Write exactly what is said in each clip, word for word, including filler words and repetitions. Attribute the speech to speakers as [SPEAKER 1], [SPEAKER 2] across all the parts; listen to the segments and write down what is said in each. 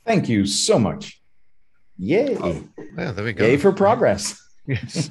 [SPEAKER 1] Thank you so much. Yay.
[SPEAKER 2] Oh, yeah, there we go.
[SPEAKER 1] Yay for progress.
[SPEAKER 2] Yes.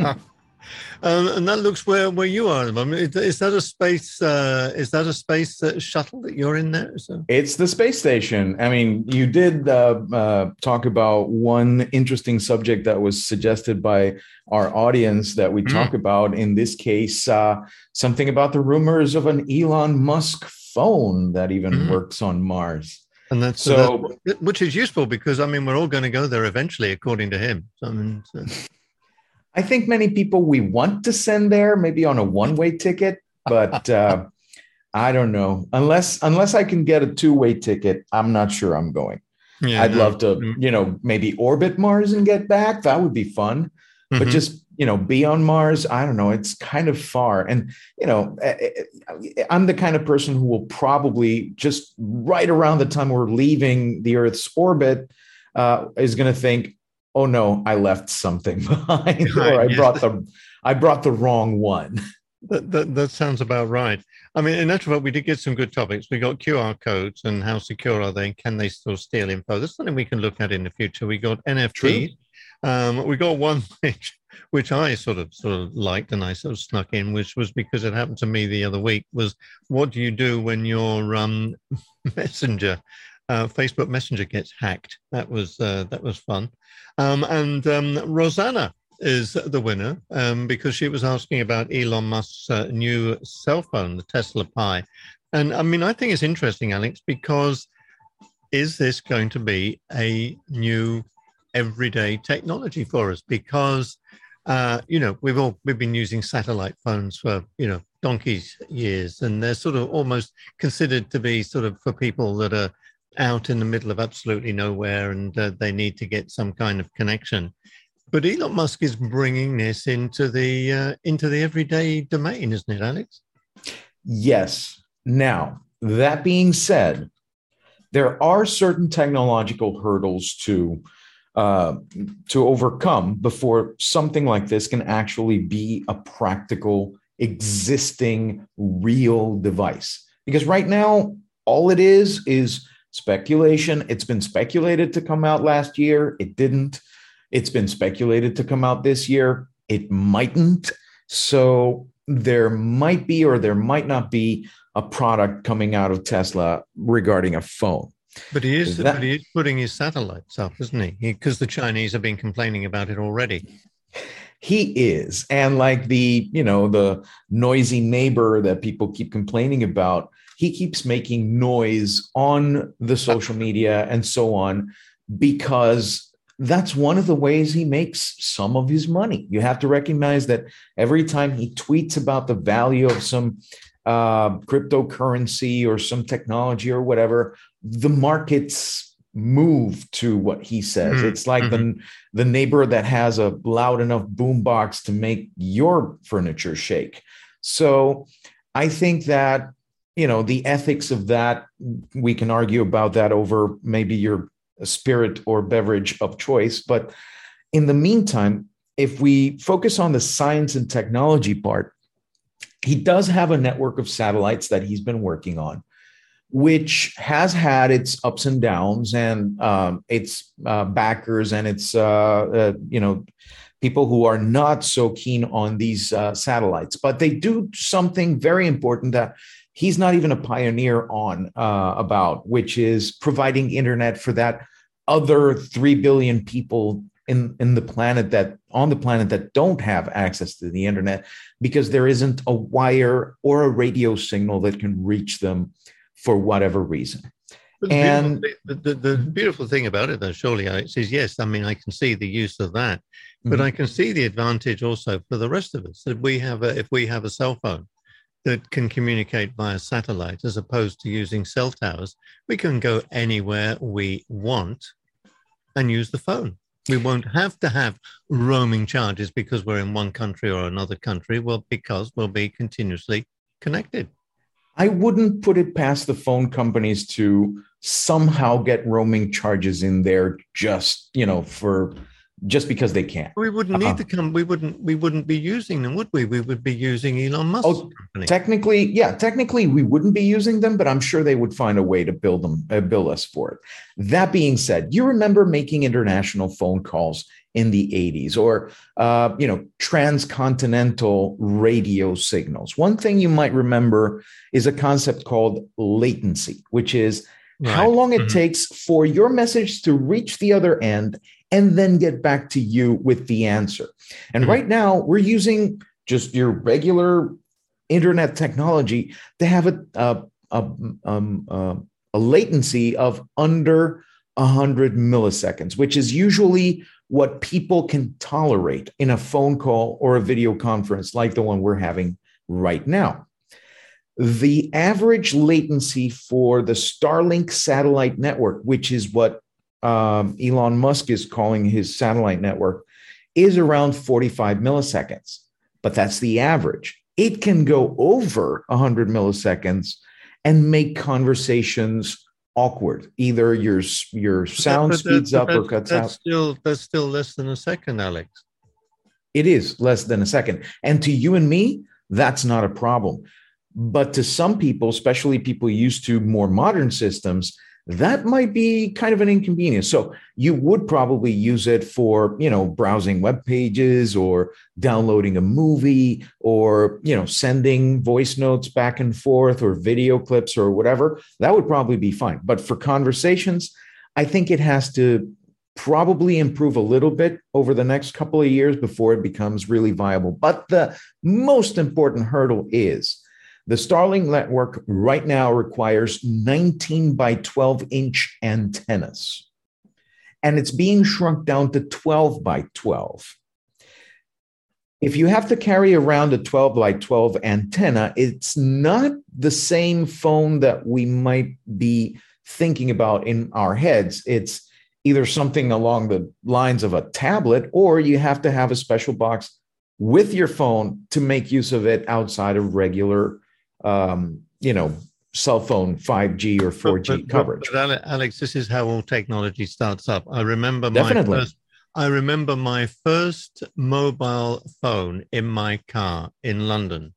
[SPEAKER 2] Um, and that looks where, where you are at the moment. Is that a space? Uh, is that a space uh, shuttle that you're in there? So?
[SPEAKER 1] It's the space station. I mean, you did uh, uh, talk about one interesting subject that was suggested by our audience that we mm. talk about. In this case, uh, something about the rumors of an Elon Musk phone that even mm. works on Mars.
[SPEAKER 2] And that's so, that's, which is useful because I mean, we're all going to go there eventually, according to him. So, I mean. So.
[SPEAKER 1] I think many people we want to send there, maybe on a one-way ticket, but uh, I don't know. Unless unless I can get a two-way ticket, I'm not sure I'm going. Yeah, I'd no. love to, you know, maybe orbit Mars and get back. That would be fun. Mm-hmm. But just, you know, be on Mars, I don't know. It's kind of far. And, you know, I'm the kind of person who will probably just right around the time we're leaving the Earth's orbit uh, is going to think, oh no, I left something behind, right, or I yes. brought the I brought the wrong one.
[SPEAKER 2] That, that that sounds about right. I mean, in actual fact, we did get some good topics. We got Q R codes and how secure are they, and can they still steal info? That's something we can look at in the future. We got N F Ts. Um, we got one which which I sort of sort of liked and I sort of snuck in, which was because it happened to me the other week. Was what do you do when your um, messenger, uh, Facebook Messenger gets hacked? That was uh, that was fun. Um, and um, Rosanna is the winner um, because she was asking about Elon Musk's uh, new cell phone, the Tesla Pi. And I mean, I think it's interesting, Alex, because is this going to be a new everyday technology for us? Because, uh, you know, we've all we've been using satellite phones for, you know, donkey's years, and they're sort of almost considered to be sort of for people that are out in the middle of absolutely nowhere and uh, they need to get some kind of connection. But Elon Musk is bringing this into the uh, into the everyday domain, isn't it, Alex?
[SPEAKER 1] Yes. Now, that being said, there are certain technological hurdles to uh, to overcome before something like this can actually be a practical, existing, real device. Because right now, all it is is speculation. It's been speculated to come out last year. It didn't. It's been speculated to come out this year. It mightn't. So there might be or there might not be a product coming out of Tesla regarding a phone.
[SPEAKER 2] But he is, that, but he is putting his satellites up, isn't he? Because the Chinese have been complaining about it already.
[SPEAKER 1] He is. And like the, you know, the noisy neighbor that people keep complaining about, he keeps making noise on the social media and so on, because that's one of the ways he makes some of his money. You have to recognize that every time he tweets about the value of some uh, cryptocurrency or some technology or whatever, the markets move to what he says. Mm-hmm. It's like mm-hmm. the, the neighbor that has a loud enough boombox to make your furniture shake. So I think that, you know, the ethics of that, we can argue about that over maybe your spirit or beverage of choice. But in the meantime, if we focus on the science and technology part, he does have a network of satellites that he's been working on, which has had its ups and downs and um, its uh, backers and its, uh, uh, you know, people who are not so keen on these uh, satellites. But they do something very important that he's not even a pioneer on uh, about, which is providing internet for that other three billion people in, in the planet that on the planet that don't have access to the internet because there isn't a wire or a radio signal that can reach them for whatever reason.
[SPEAKER 2] The
[SPEAKER 1] and
[SPEAKER 2] beautiful, the, the, the beautiful thing about it, though, surely, Alex, is yes, I mean, I can see the use of that, but mm-hmm. I can see the advantage also for the rest of us that we have a, if we have a cell phone that can communicate via satellite as opposed to using cell towers, we can go anywhere we want and use the phone. We won't have to have roaming charges because we're in one country or another country. Well, because we'll be continuously connected.
[SPEAKER 1] I wouldn't put it past the phone companies to somehow get roaming charges in there just, you know, for just because they can.
[SPEAKER 2] We wouldn't need
[SPEAKER 1] Uh,
[SPEAKER 2] to come. We wouldn't. We wouldn't be using them, would we? We would be using Elon Musk's
[SPEAKER 1] oh,
[SPEAKER 2] company.
[SPEAKER 1] technically, yeah, technically we wouldn't be using them, but I'm sure they would find a way to build them, uh, bill us for it. That being said, you remember making international phone calls in the eighties, or uh, you know, transcontinental radio signals. One thing you might remember is a concept called latency, which is right. how long it mm-hmm. takes for your message to reach the other end and then get back to you with the answer. And mm-hmm. right now we're using just your regular internet technology to have a a, a, um, uh, a latency of under one hundred milliseconds, which is usually what people can tolerate in a phone call or a video conference like the one we're having right now. The average latency for the Starlink satellite network, which is what um, Elon Musk is calling his satellite network, is around forty-five milliseconds. But that's the average. It can go over one hundred milliseconds and make conversations awkward. Either your your sound speeds up or cuts
[SPEAKER 2] that's
[SPEAKER 1] out.
[SPEAKER 2] Still, that's still less than a second, Alex.
[SPEAKER 1] It is less than a second. And to you and me, that's not a problem. But to some people, especially people used to more modern systems, that might be kind of an inconvenience. So you would probably use it for, you know, browsing web pages or downloading a movie or, you know, sending voice notes back and forth or video clips or whatever. That would probably be fine. But for conversations, I think it has to probably improve a little bit over the next couple of years before it becomes really viable. But the most important hurdle is the Starlink network right now requires nineteen by twelve inch antennas, and it's being shrunk down to twelve by twelve. If you have to carry around a twelve by twelve antenna, it's not the same phone that we might be thinking about in our heads. It's either something along the lines of a tablet, or you have to have a special box with your phone to make use of it outside of regular Um, you know, cell phone five G or four G
[SPEAKER 2] but, but,
[SPEAKER 1] coverage.
[SPEAKER 2] But Alex, this is how all technology starts up. I remember
[SPEAKER 1] Definitely.
[SPEAKER 2] my first, I remember my first mobile phone in my car in London,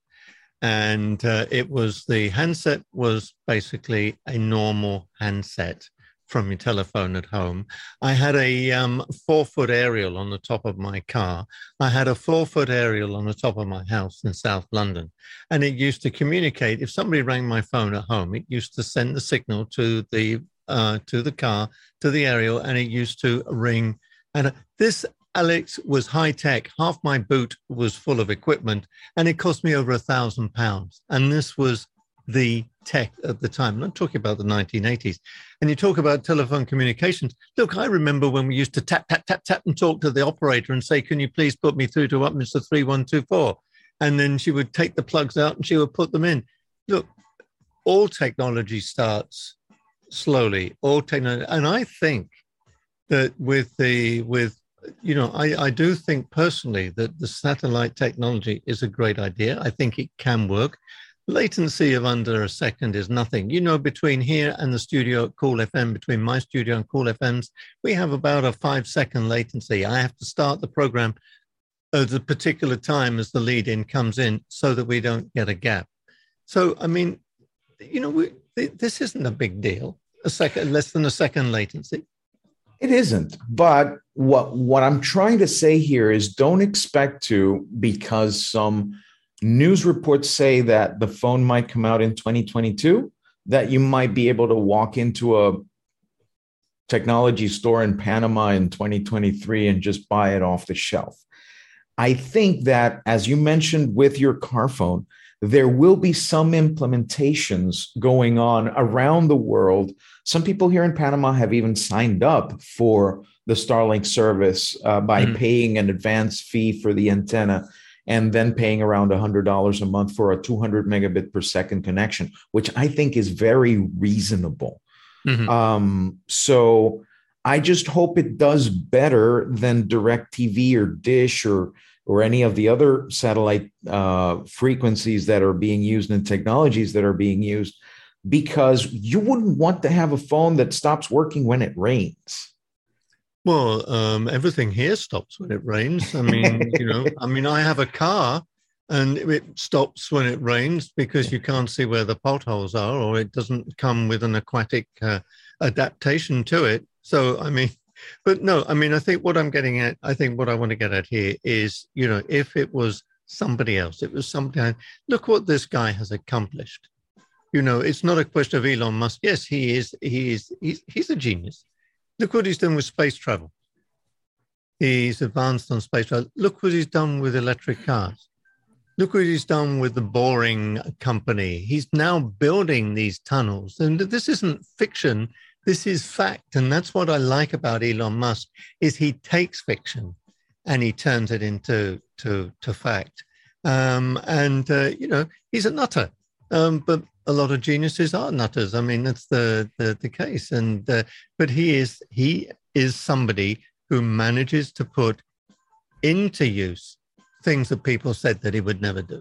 [SPEAKER 2] and uh, it was the handset was basically a normal handset from your telephone at home. I had a um, four-foot aerial on the top of my car. I had a four-foot aerial on the top of my house in South London. And it used to communicate. If somebody rang my phone at home, it used to send the signal to the uh, to the car, to the aerial, and it used to ring. And uh, this, Alex, was high-tech. Half my boot was full of equipment, and it cost me over a thousand pounds. And this was the tech at the time. I'm talking about the nineteen eighties. And you talk about telephone communications. Look, I remember when we used to tap, tap, tap, tap and talk to the operator and say, can you please put me through to Upminster three one two four? And then she would take the plugs out and she would put them in. Look, all technology starts slowly. All technology. And I think that with the, with, you know, I, I do think personally that the satellite technology is a great idea. I think it can work. Latency of under a second is nothing. You know, between here and the studio at Cool F M, between my studio and Cool F M's, we have about a five second latency. I have to start the program at a particular time as the lead in comes in so that we don't get a gap. So, I mean, you know, we, this isn't a big deal, a second, less than a second latency.
[SPEAKER 1] It isn't. But what, what I'm trying to say here is don't expect to, because some news reports say that the phone might come out in twenty twenty-two, that you might be able to walk into a technology store in Panama in twenty twenty-three and just buy it off the shelf. I think that, as you mentioned with your car phone, there will be some implementations going on around the world. Some people here in Panama have even signed up for the Starlink service uh, by mm-hmm. paying an advance fee for the antenna, and then paying around one hundred dollars a month for a two hundred megabit per second connection, which I think is very reasonable. Mm-hmm. Um, so I just hope it does better than DirecTV or Dish or, or any of the other satellite uh, frequencies that are being used and technologies that are being used, because you wouldn't want to have a phone that stops working when it rains.
[SPEAKER 2] Well, um, everything here stops when it rains. I mean, you know, I mean, I have a car and it stops when it rains because you can't see where the potholes are, or it doesn't come with an aquatic uh, adaptation to it. So, I mean, but no, I mean, I think what I'm getting at, I think what I want to get at here is, you know, if it was somebody else, it was somebody, look what this guy has accomplished. You know, it's not a question of Elon Musk. Yes, he is, he is, he's, he's a genius. Look what he's done with space travel. He's advanced on space travel. Look what he's done with electric cars. Look what he's done with the Boring Company. He's now building these tunnels. And this isn't fiction. This is fact. And that's what I like about Elon Musk, is he takes fiction and he turns it into to, to fact. Um, and, uh, you know, he's a nutter. Um, but a lot of geniuses are nutters. I mean, that's the the, the case. And uh, but he is he is somebody who manages to put into use things that people said that he would never do.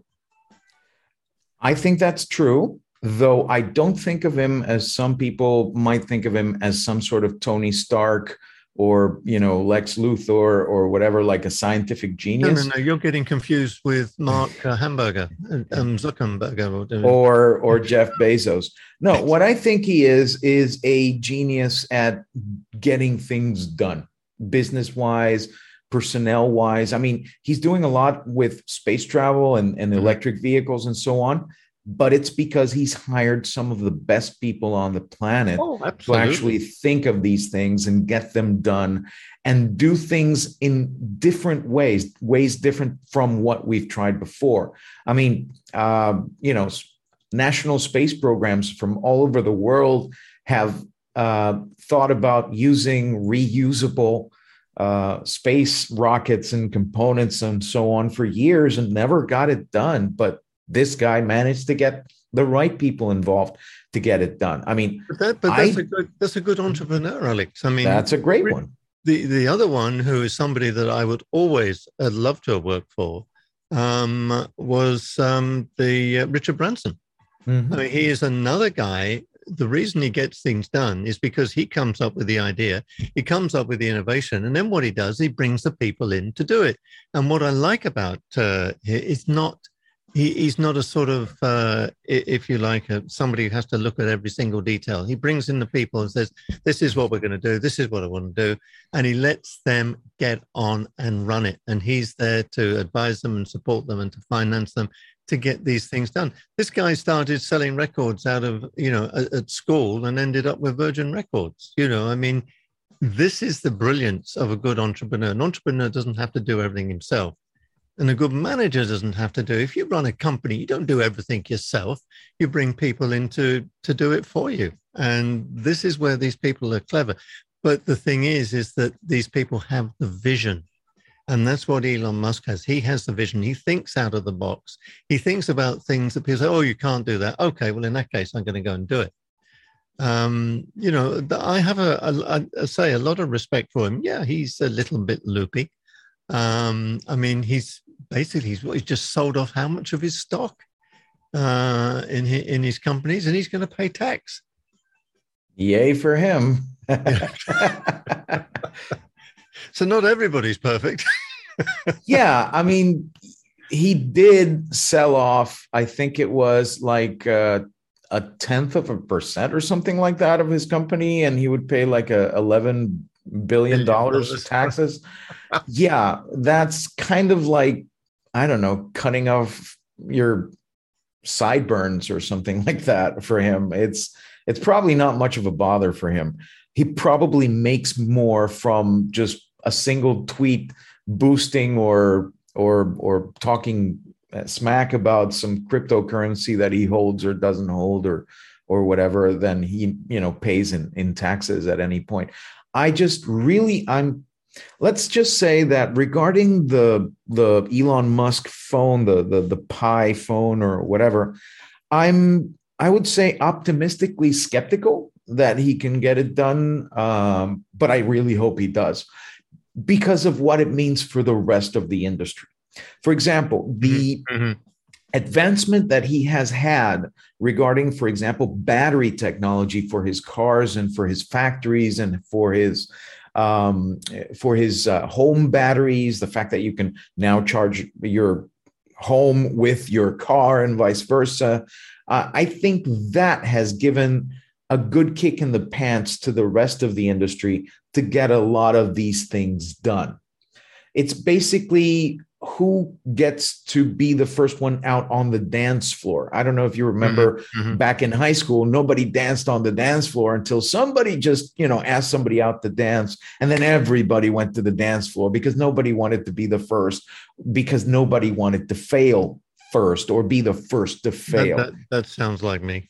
[SPEAKER 1] I think that's true, though I don't think of him as some people might think of him as some sort of Tony Stark or, you know, Lex Luthor or whatever, like a scientific genius.
[SPEAKER 2] No, no, no, you're getting confused with Mark uh, Hamburger, um, Zuckerberg. Or,
[SPEAKER 1] or, or Jeff Bezos. No, what I think he is, is a genius at getting things done, business-wise, personnel-wise. I mean, he's doing a lot with space travel and, and electric vehicles and so on. But it's because he's hired some of the best people on the planet
[SPEAKER 2] oh,
[SPEAKER 1] to actually think of these things and get them done and do things in different ways, ways different from what we've tried before. I mean, uh, you know, national space programs from all over the world have uh, thought about using reusable uh, space rockets and components and so on for years and never got it done. But this guy managed to get the right people involved to get it done. I mean,
[SPEAKER 2] but, that, but that's, I, a good, that's a good entrepreneur, Alex. I mean,
[SPEAKER 1] that's a great one.
[SPEAKER 2] The the other one, who is somebody that I would always uh, love to have worked for, um, was um, the uh, Richard Branson. Mm-hmm. I mean, he is another guy. The reason he gets things done is because he comes up with the idea, he comes up with the innovation, and then what he does, he brings the people in to do it. And what I like about uh, it's not. He, he's not a sort of, uh, if you like, a, somebody who has to look at every single detail. He brings in the people and says, this is what we're going to do. This is what I want to do. And he lets them get on and run it. And he's there to advise them and support them and to finance them to get these things done. This guy started selling records out of, you know, at, at school and ended up with Virgin Records. You know, I mean, this is the brilliance of a good entrepreneur. An entrepreneur doesn't have to do everything himself. And a good manager doesn't have to do. If you run a company, you don't do everything yourself. You bring people in to, to do it for you. And this is where these people are clever. But the thing is, is that these people have the vision. And that's what Elon Musk has. He has the vision. He thinks out of the box. He thinks about things that people say, oh, you can't do that. Okay, well, in that case, I'm going to go and do it. Um, you know, I have a, a, a say a lot of respect for him. Yeah, he's a little bit loopy. Um, I mean, he's basically he's, he's just sold off how much of his stock uh, in his, in his companies, and he's going to pay tax.
[SPEAKER 1] Yay for him!
[SPEAKER 2] So not everybody's perfect.
[SPEAKER 1] Yeah, I mean, he did sell off. I think it was like uh, a tenth of a percent or something like that of his company, and he would pay like a eleven billion dollars taxes. Yeah, that's kind of like, I don't know, cutting off your sideburns or something like that for him. It's it's probably not much of a bother for him. He probably makes more from just a single tweet boosting or or or talking smack about some cryptocurrency that he holds or doesn't hold or or whatever than he, you know, pays in, in taxes at any point. I just really, I'm, let's just say that regarding the the Elon Musk phone, the the the Pi phone or whatever, I'm, I would say optimistically skeptical that he can get it done. Um, but I really hope he does because of what it means for the rest of the industry. For example, the mm-hmm. advancement that he has had regarding, for example, battery technology for his cars and for his factories and for his um, for his uh, home batteries, the fact that you can now charge your home with your car and vice versa. Uh, I think that has given a good kick in the pants to the rest of the industry to get a lot of these things done. It's basically who gets to be the first one out on the dance floor. I don't know if you remember mm-hmm, mm-hmm. back in high school, nobody danced on the dance floor until somebody just, you know, asked somebody out to dance. And then everybody went to the dance floor because nobody wanted to be the first, because nobody wanted to fail first or be the first to fail.
[SPEAKER 2] That, that, that sounds like me.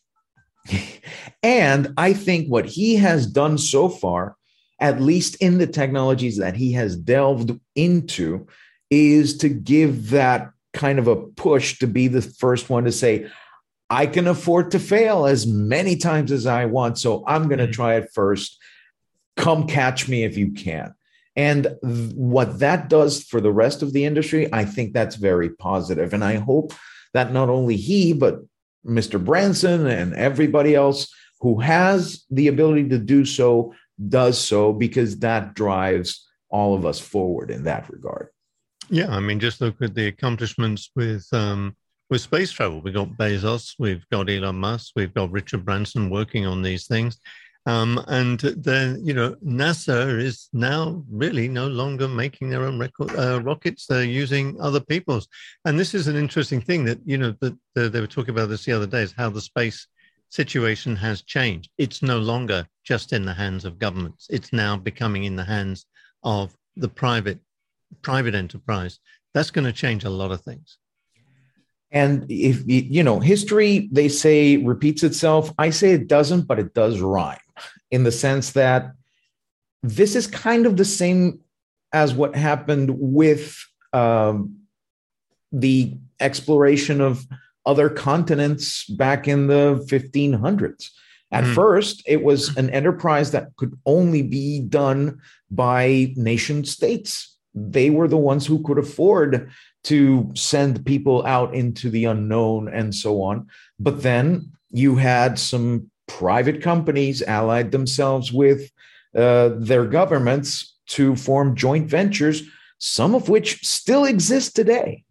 [SPEAKER 1] And I think what he has done so far, at least in the technologies that he has delved into, is to give that kind of a push to be the first one to say, I can afford to fail as many times as I want, so I'm going to try it first. Come catch me if you can. And th- what that does for the rest of the industry, I think that's very positive. And I hope that not only he, but Mister Branson and everybody else who has the ability to do so does so, because that drives all of us forward in that regard.
[SPEAKER 2] Yeah, I mean, just look at the accomplishments with um, with space travel. We've got Bezos, we've got Elon Musk, we've got Richard Branson working on these things. Um, and then, you know, NASA is now really no longer making their own record, uh, rockets. They're using other people's. And this is an interesting thing that, you know, that the, they were talking about this the other day, is how the space situation has changed. It's no longer just in the hands of governments. It's now becoming in the hands of the private private enterprise. That's going to change a lot of things.
[SPEAKER 1] And if, you know, history, they say, repeats itself. I say it doesn't, but it does rhyme, in the sense that this is kind of the same as what happened with um, the exploration of other continents back in the fifteen hundreds. At mm. first, it was an enterprise that could only be done by nation states. They were the ones who could afford to send people out into the unknown and so on. But then you had some private companies allied themselves with uh, their governments to form joint ventures, some of which still exist today.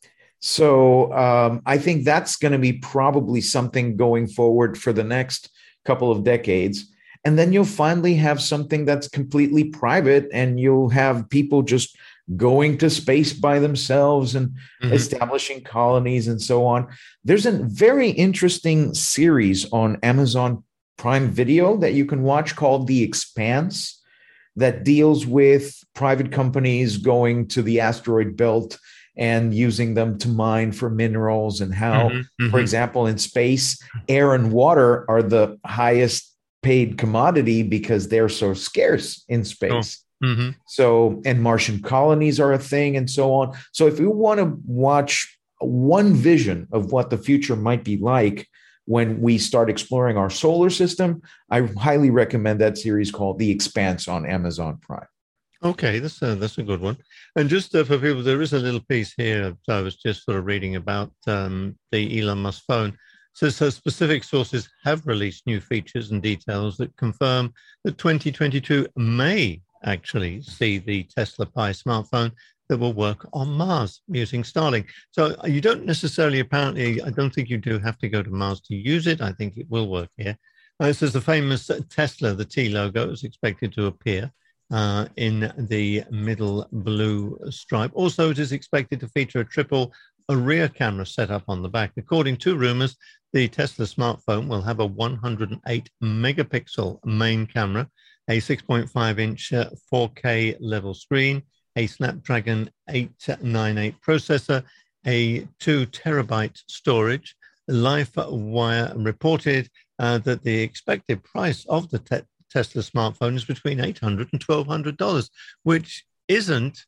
[SPEAKER 1] So um, I think that's going to be probably something going forward for the next couple of decades. And then you'll finally have something that's completely private, and you'll have people just going to space by themselves and mm-hmm. establishing colonies and so on. There's a very interesting series on Amazon Prime Video that you can watch called The Expanse, that deals with private companies going to the asteroid belt and using them to mine for minerals, and how, mm-hmm. Mm-hmm. for example, in space, air and water are the highest paid commodity because they're so scarce in space. Oh. Mm-hmm. So, and Martian colonies are a thing and so on. So if you want to watch one vision of what the future might be like when we start exploring our solar system, I highly recommend that series called The Expanse on Amazon Prime.
[SPEAKER 2] Okay, that's a, that's a good one. And just uh, for people, there is a little piece here I was just sort of reading about um, the Elon Musk phone. So, so specific sources have released new features and details that confirm that twenty twenty-two may actually see the Tesla Pi smartphone that will work on Mars using Starlink. So you don't necessarily, apparently, I don't think you do have to go to Mars to use it. I think it will work here. Uh, it says the famous Tesla, the T logo, is expected to appear uh, in the middle blue stripe. Also, it is expected to feature a triple a rear camera set up on the back. According to rumors, the Tesla smartphone will have a one hundred eight megapixel main camera, a six point five inch four K level screen, a Snapdragon eight ninety-eight processor, a two terabyte storage. LifeWire reported uh, that the expected price of the te- Tesla smartphone is between eight hundred dollars and twelve hundred dollars, which isn't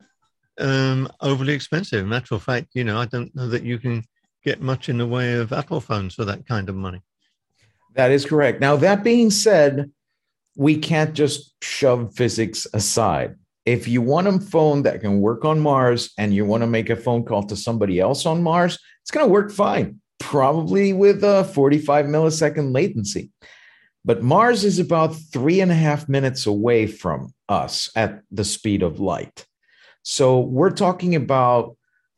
[SPEAKER 2] um, overly expensive. Matter of fact, you know, I don't know that you can get much in the way of Apple phones for that kind of money.
[SPEAKER 1] That is correct. Now, that being said, we can't just shove physics aside. If you want a phone that can work on Mars and you want to make a phone call to somebody else on Mars, it's going to work fine, probably with a forty-five millisecond latency. but Mars is about three and a half minutes away from us at the speed of light. So we're talking about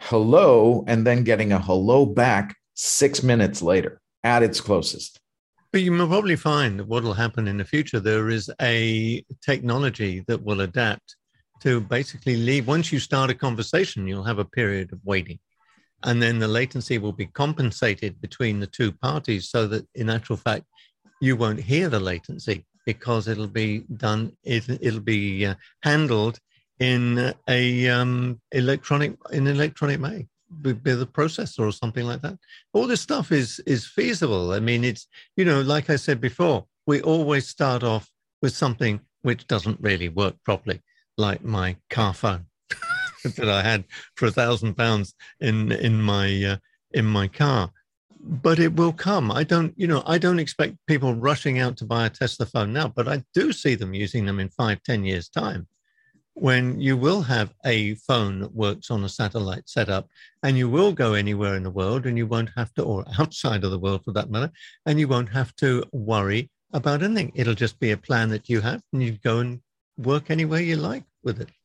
[SPEAKER 1] hello and then getting a hello back six minutes later at its closest.
[SPEAKER 2] But you will probably find that what will happen in the future, there is a technology that will adapt to basically leave. Once you start a conversation, you'll have a period of waiting. And then the latency will be compensated between the two parties so that in actual fact, you won't hear the latency because it'll be done, it, it'll be uh, handled in a um, electronic, in electronic way, with the processor or something like that. All this stuff is is feasible. I mean, it's, you know, like I said before, we always start off with something which doesn't really work properly, like my car phone that I had for a thousand pounds in in my uh, in my car. But it will come. I don't, you know, I don't expect people rushing out to buy a Tesla phone now, but I do see them using them in five, ten years' time, when you will have a phone that works on a satellite setup and you will go anywhere in the world and you won't have to, or outside of the world for that matter, and you won't have to worry about anything. It'll just be a plan that you have and you go and work anywhere you like with it.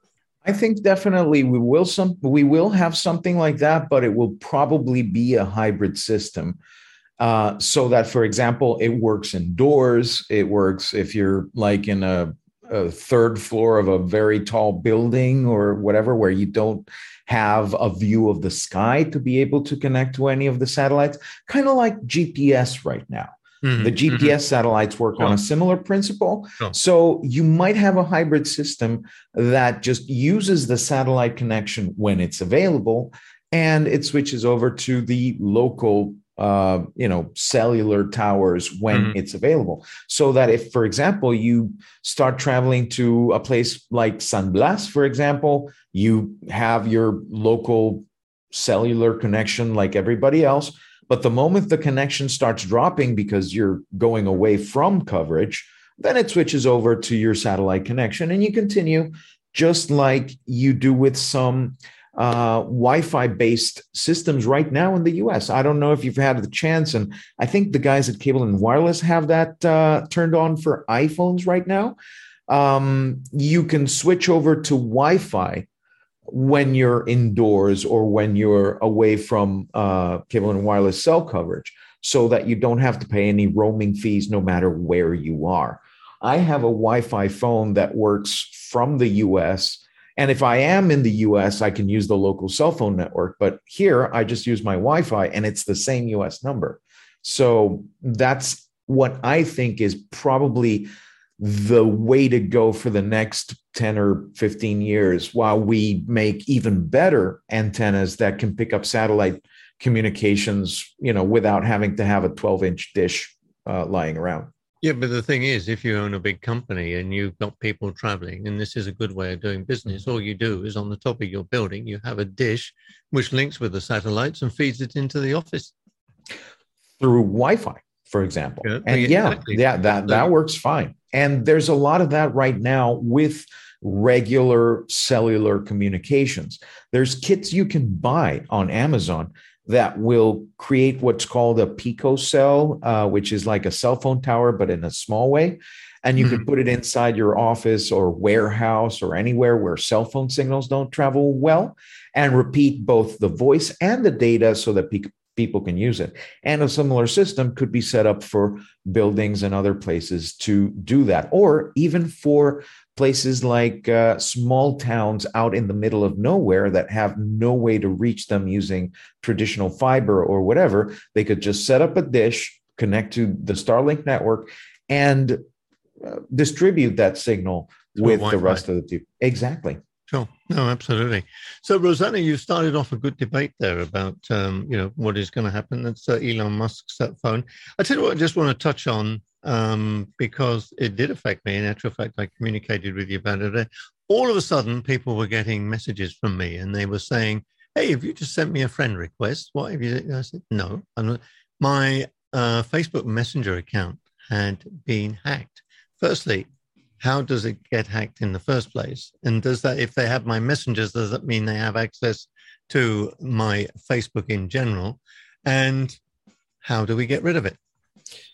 [SPEAKER 1] I think definitely we will some we will have something like that, but it will probably be a hybrid system. Uh, so that, for example, it works indoors. It works if you're like in a, a third floor of a very tall building or whatever, where you don't have a view of the sky to be able to connect to any of the satellites, kind of like G P S right now. Mm-hmm. The G P S mm-hmm. satellites work sure. on a similar principle. Sure. So you might have a hybrid system that just uses the satellite connection when it's available, and it switches over to the local, uh, you know, cellular towers when mm-hmm. it's available. So that if, for example, you start traveling to a place like San Blas, for example, you have your local cellular connection like everybody else. But the moment the connection starts dropping because you're going away from coverage, then it switches over to your satellite connection and you continue just like you do with some uh, Wi-Fi based systems right now in the U S. I don't know if you've had the chance, and I think the guys at Cable and Wireless have that uh, turned on for iPhones right now. Um, you can switch over to Wi-Fi when you're indoors or when you're away from uh, Cable and Wireless cell coverage, so that you don't have to pay any roaming fees no matter where you are. I have a Wi-Fi phone that works from the U S, and if I am in the U S, I can use the local cell phone network, but here I just use my Wi-Fi and it's the same U S number. So that's what I think is probably the way to go for the next ten or fifteen years, while we make even better antennas that can pick up satellite communications, you know, without having to have a twelve inch dish uh, lying around.
[SPEAKER 2] Yeah, but the thing is, if you own a big company and you've got people traveling, and this is a good way of doing business, all you do is on the top of your building, you have a dish which links with the satellites and feeds it into the office.
[SPEAKER 1] Through Wi-Fi, for example. Yeah, and yeah, exactly. yeah, that, that works fine. And there's a lot of that right now with regular cellular communications. There's kits you can buy on Amazon that will create what's called a picocell, uh, which is like a cell phone tower, but in a small way. And you mm-hmm. can put it inside your office or warehouse or anywhere where cell phone signals don't travel well, and repeat both the voice and the data so that pe- people can use it. And a similar system could be set up for buildings and other places to do that, or even for places like uh, small towns out in the middle of nowhere that have no way to reach them using traditional fiber or whatever. They could just set up a dish, connect to the Starlink network, and uh, distribute that signal to with the rest of the people. Exactly.
[SPEAKER 2] Sure. No, absolutely. So, Rosanna, you started off a good debate there about, um, you know, what is going to happen. That's uh, Elon Musk's that phone. I tell you what, I just want to touch on, um, because it did affect me. In actual fact, I communicated with you about it. All of a sudden, people were getting messages from me, and they were saying, "Hey, have you just sent me a friend request? What have you?" I said, "No, I'm not." My uh, Facebook Messenger account had been hacked. Firstly, how does it get hacked in the first place? And does that, if they have my messengers, does that mean they have access to my Facebook in general? And how do we get rid of it?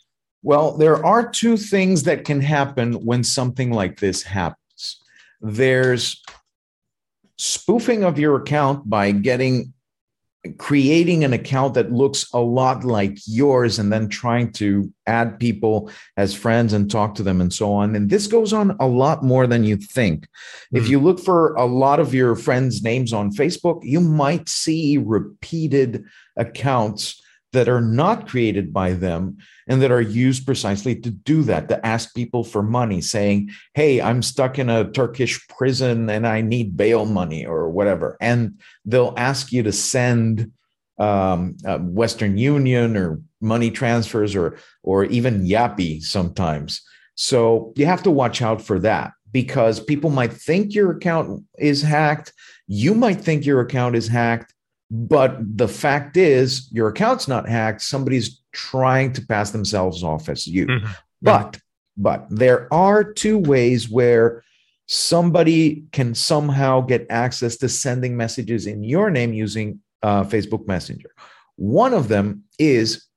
[SPEAKER 1] Well, there are two things that can happen when something like this happens. There's spoofing of your account by getting creating an account that looks a lot like yours and then trying to add people as friends and talk to them and so on. And this goes on a lot more than you think. Mm. If you look for a lot of your friends' names on Facebook, you might see repeated accounts that are not created by them and that are used precisely to do that, to ask people for money, saying, hey, I'm stuck in a Turkish prison and I need bail money or whatever. And they'll ask you to send um, uh, Western Union or money transfers or, or even Yappy sometimes. So you have to watch out for that, because people might think your account is hacked. You might think your account is hacked. But the fact is, your account's not hacked. Somebody's trying to pass themselves off as you. Mm-hmm. But, but there are two ways where somebody can somehow get access to sending messages in your name using uh, Facebook Messenger. One of them is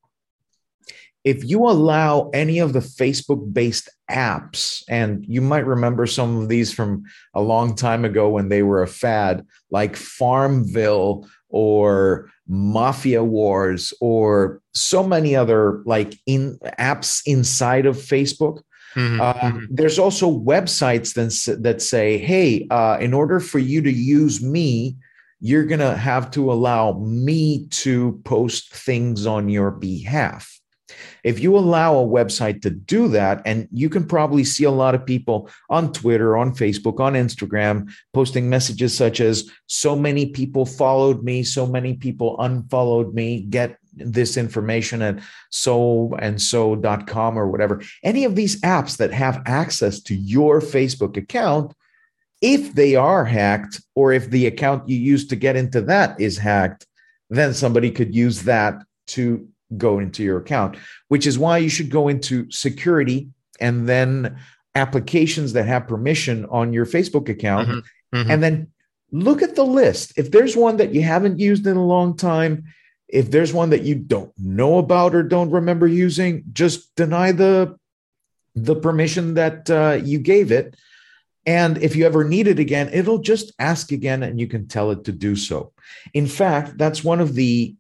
[SPEAKER 1] if you allow any of the Facebook-based apps, and you might remember some of these from a long time ago when they were a fad, like Farmville or Mafia Wars, or so many other like in apps inside of Facebook. Mm-hmm, uh, mm-hmm. There's also websites that, that say, hey, uh, in order for you to use me, you're going to have to allow me to post things on your behalf. If you allow a website to do that, and you can probably see a lot of people on Twitter, on Facebook, on Instagram, posting messages such as, so many people followed me, so many people unfollowed me, get this information at so and so dot com or whatever. Any of these apps that have access to your Facebook account, if they are hacked, or if the account you use to get into that is hacked, then somebody could use that to go into your account, which is why you should go into security and then applications that have permission on your Facebook account. Mm-hmm. Mm-hmm. And then look at the list. If there's one that you haven't used in a long time, if there's one that you don't know about or don't remember using, just deny the, the permission that uh, you gave it. And if you ever need it again, it'll just ask again and you can tell it to do so. In fact, that's one of the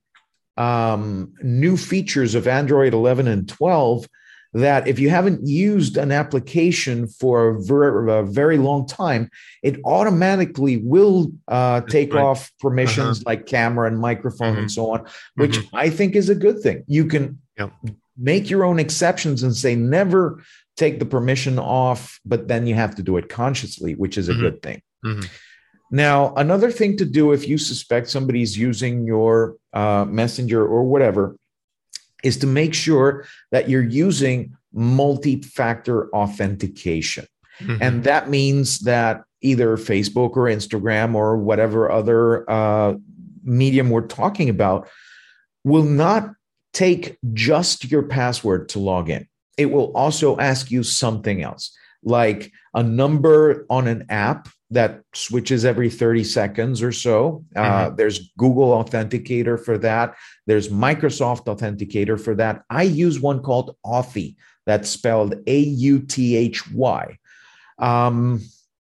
[SPEAKER 1] Um, new features of Android eleven and twelve, that if you haven't used an application for a very, a very long time, it automatically will uh, take right. off permissions uh-huh. like camera and microphone mm-hmm. and so on, which mm-hmm. I think is a good thing. You can yep. make your own exceptions and say never take the permission off, but then you have to do it consciously, which is a mm-hmm. good thing. Mm-hmm. Now, another thing to do if you suspect somebody's using your uh, messenger or whatever is to make sure that you're using multi-factor authentication. Mm-hmm. And that means that either Facebook or Instagram or whatever other uh, medium we're talking about will not take just your password to log in. It will also ask you something else, like a number on an app that switches every thirty seconds or so. Uh, mm-hmm. There's Google Authenticator for that. There's Microsoft Authenticator for that. I use one called Authy, that's spelled A U T H Y. Um,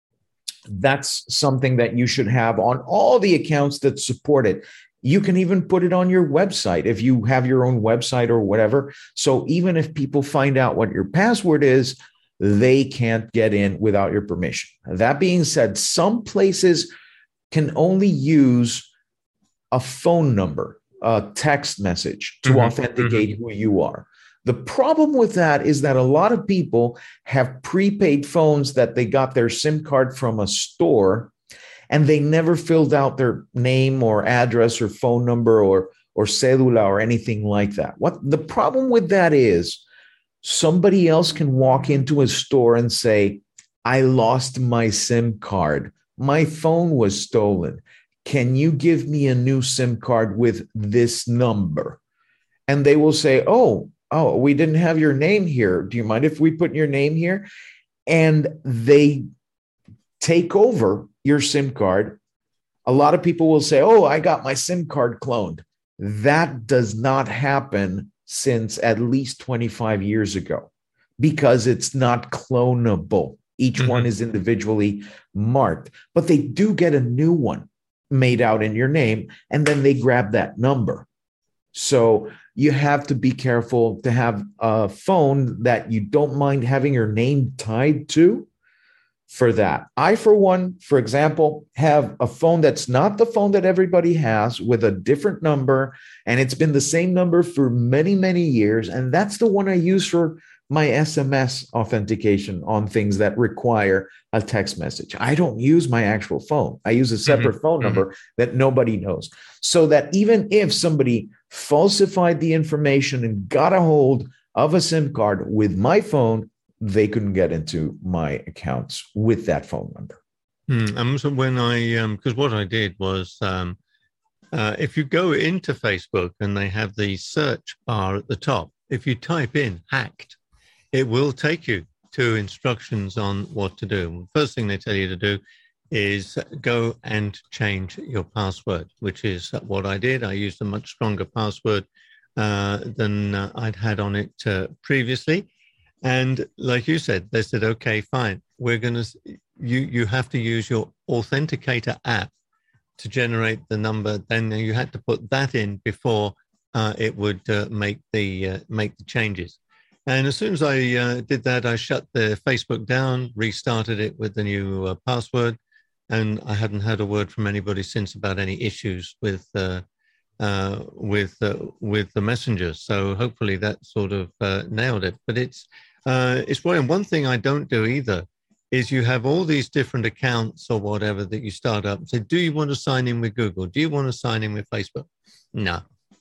[SPEAKER 1] that's something that you should have on all the accounts that support it. You can even put it on your website if you have your own website or whatever. So even if people find out what your password is, they can't get in without your permission. That being said, some places can only use a phone number, a text message to mm-hmm. authenticate mm-hmm. who you are. The problem with that is that a lot of people have prepaid phones that they got their SIM card from a store, and they never filled out their name or address or phone number or, or cedula or anything like that. What the problem with that is, somebody else can walk into a store and say, I lost my SIM card. My phone was stolen. Can you give me a new SIM card with this number? And they will say, oh, oh, we didn't have your name here. Do you mind if we put your name here? And they take over your SIM card. A lot of people will say, oh, I got my SIM card cloned. That does not happen since at least twenty-five years ago because it's not clonable. Each mm-hmm. one is individually marked, but they do get a new one made out in your name, and then they grab that number. So you have to be careful to have a phone that you don't mind having your name tied to for that. I, for one, for example, have a phone that's not the phone that everybody has with a different number, and it's been the same number for many, many years. And that's the one I use for my S M S authentication on things that require a text message. I don't use my actual phone. I use a separate mm-hmm. phone number mm-hmm. that nobody knows. So that even if somebody falsified the information and got a hold of a SIM card with my phone, they couldn't get into my accounts with that phone number.
[SPEAKER 2] Mm, and so when I, um, because what I did was, um, uh, if you go into Facebook and they have the search bar at the top, if you type in hacked, it will take you to instructions on what to do. First thing they tell you to do is go and change your password, which is what I did. I used a much stronger password uh, than uh, I'd had on it uh, previously. And like you said, they said, okay, fine. We're going to, you, you have to use your Authenticator app to generate the number. Then you had to put that in before uh, it would uh, make the, uh, make the changes. And as soon as I uh, did that, I shut the Facebook down, restarted it with the new uh, password. And I hadn't heard a word from anybody since about any issues with, uh, uh, with, uh, with the messenger. So hopefully that sort of uh, nailed it. But it's, Uh, it's brilliant. One thing I don't do either is you have all these different accounts or whatever that you start up and say, do you want to sign in with Google? Do you want to sign in with Facebook? No,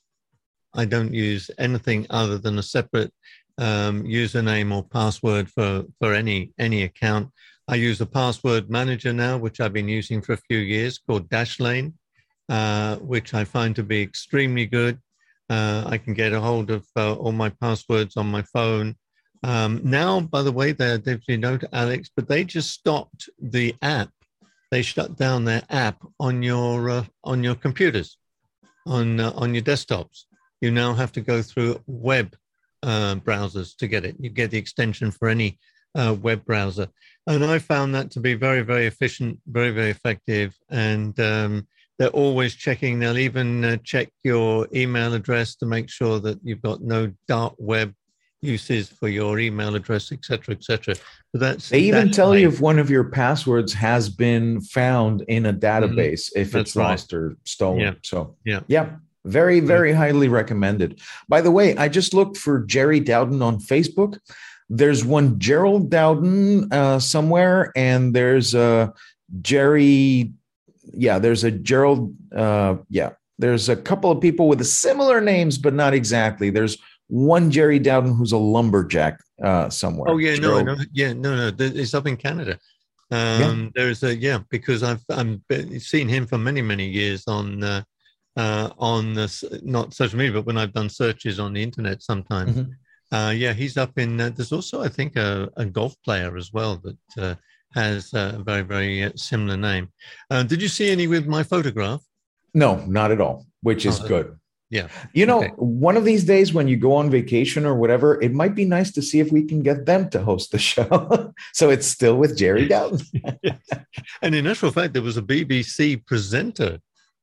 [SPEAKER 2] I don't use anything other than a separate um, username or password for, for any, any account. I use a password manager now, which I've been using for a few years, called Dashlane, uh, which I find to be extremely good. Uh, I can get a hold of uh, all my passwords on my phone. Um, now, by the way, they're definitely no to Alex, but they just stopped the app. They shut down their app on your uh, on your computers, on uh, on your desktops. You now have to go through web uh, browsers to get it. You get the extension for any uh, web browser, and I found that to be very, very efficient, very, very effective. And um, they're always checking. They'll even uh, check your email address to make sure that you've got no dark web uses for your email address, et cetera, et cetera. So that's,
[SPEAKER 1] they even
[SPEAKER 2] that's
[SPEAKER 1] tell
[SPEAKER 2] like,
[SPEAKER 1] you if one of your passwords has been found in a database, mm-hmm. if
[SPEAKER 2] that's
[SPEAKER 1] it's lost right. or stolen.
[SPEAKER 2] Yeah.
[SPEAKER 1] So
[SPEAKER 2] yeah,
[SPEAKER 1] yeah, very, very yeah. highly recommended. By the way, I just looked for Jerry Dowden on Facebook. There's one Gerald Dowden uh, somewhere, and there's a Jerry. Yeah, there's a Gerald. Uh, yeah, there's a couple of people with similar names, but not exactly. There's one Jerry Dowden who's a lumberjack uh, somewhere.
[SPEAKER 2] Oh yeah, no, no, yeah, no, no. It's up in Canada. Um, yeah. There's a yeah, because I've I'm seen him for many many years on uh, uh, on this, not social media, but when I've done searches on the internet sometimes. Mm-hmm. Uh, yeah, he's up in. Uh, there's also I think a, a golf player as well that uh, has a very very uh, similar name. Uh, did you see any with my photograph?
[SPEAKER 1] No, not at all. Which is oh, good.
[SPEAKER 2] Yeah.
[SPEAKER 1] You know,
[SPEAKER 2] okay.
[SPEAKER 1] one of these days when you go on vacation or whatever, it might be nice to see if we can get them to host the show. So it's still with Jerry Dowden.
[SPEAKER 2] Yes. And in actual fact, there was a B B C presenter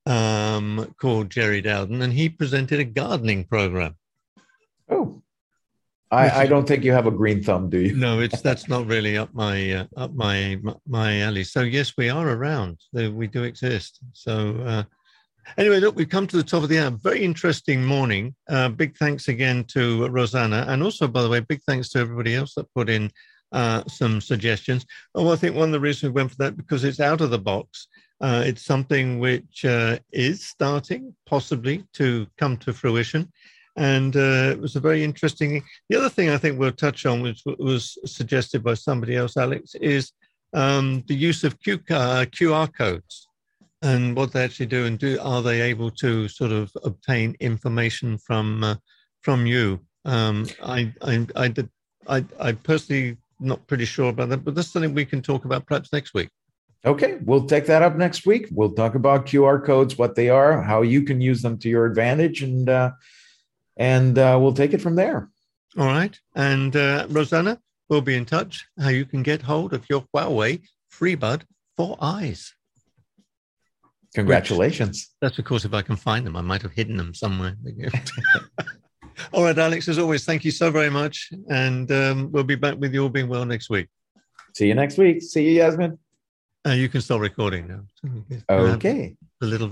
[SPEAKER 2] um, called Jerry Dowden, and he presented a gardening program.
[SPEAKER 1] Oh, I, I don't think you have a green thumb, do you?
[SPEAKER 2] No, it's that's not really up my uh, up my my alley. So yes, we are around. We do exist. So. Uh, Anyway, look, we've come to the top of the hour. Very interesting morning. Uh, big thanks again to Rosanna. And also, by the way, big thanks to everybody else that put in uh, some suggestions. Oh, I think one of the reasons we went for that, because it's out of the box. Uh, it's something which uh, is starting possibly to come to fruition. And uh, it was a very interesting... The other thing I think we'll touch on, which was suggested by somebody else, Alex, is um, the use of Q, uh, Q R codes. And what they actually do, and do are they able to sort of obtain information from uh, from you? Um, I I I did I I personally not pretty sure about that, but that's something we can talk about perhaps next week.
[SPEAKER 1] Okay, we'll take that up next week. We'll talk about Q R codes, what they are, how you can use them to your advantage, and uh, and uh, we'll take it from there.
[SPEAKER 2] All right. And uh, Rosanna, we'll be in touch how you can get hold of your Huawei FreeBud four Eyes.
[SPEAKER 1] Congratulations.
[SPEAKER 2] Which, that's, of course, if I can find them. I might have hidden them somewhere. All right, Alex, as always, thank you so very much. And um, we'll be back with you all being well next week.
[SPEAKER 1] See you next week. See you, Yasmin.
[SPEAKER 2] Uh, you can start recording now.
[SPEAKER 1] Okay.
[SPEAKER 2] The little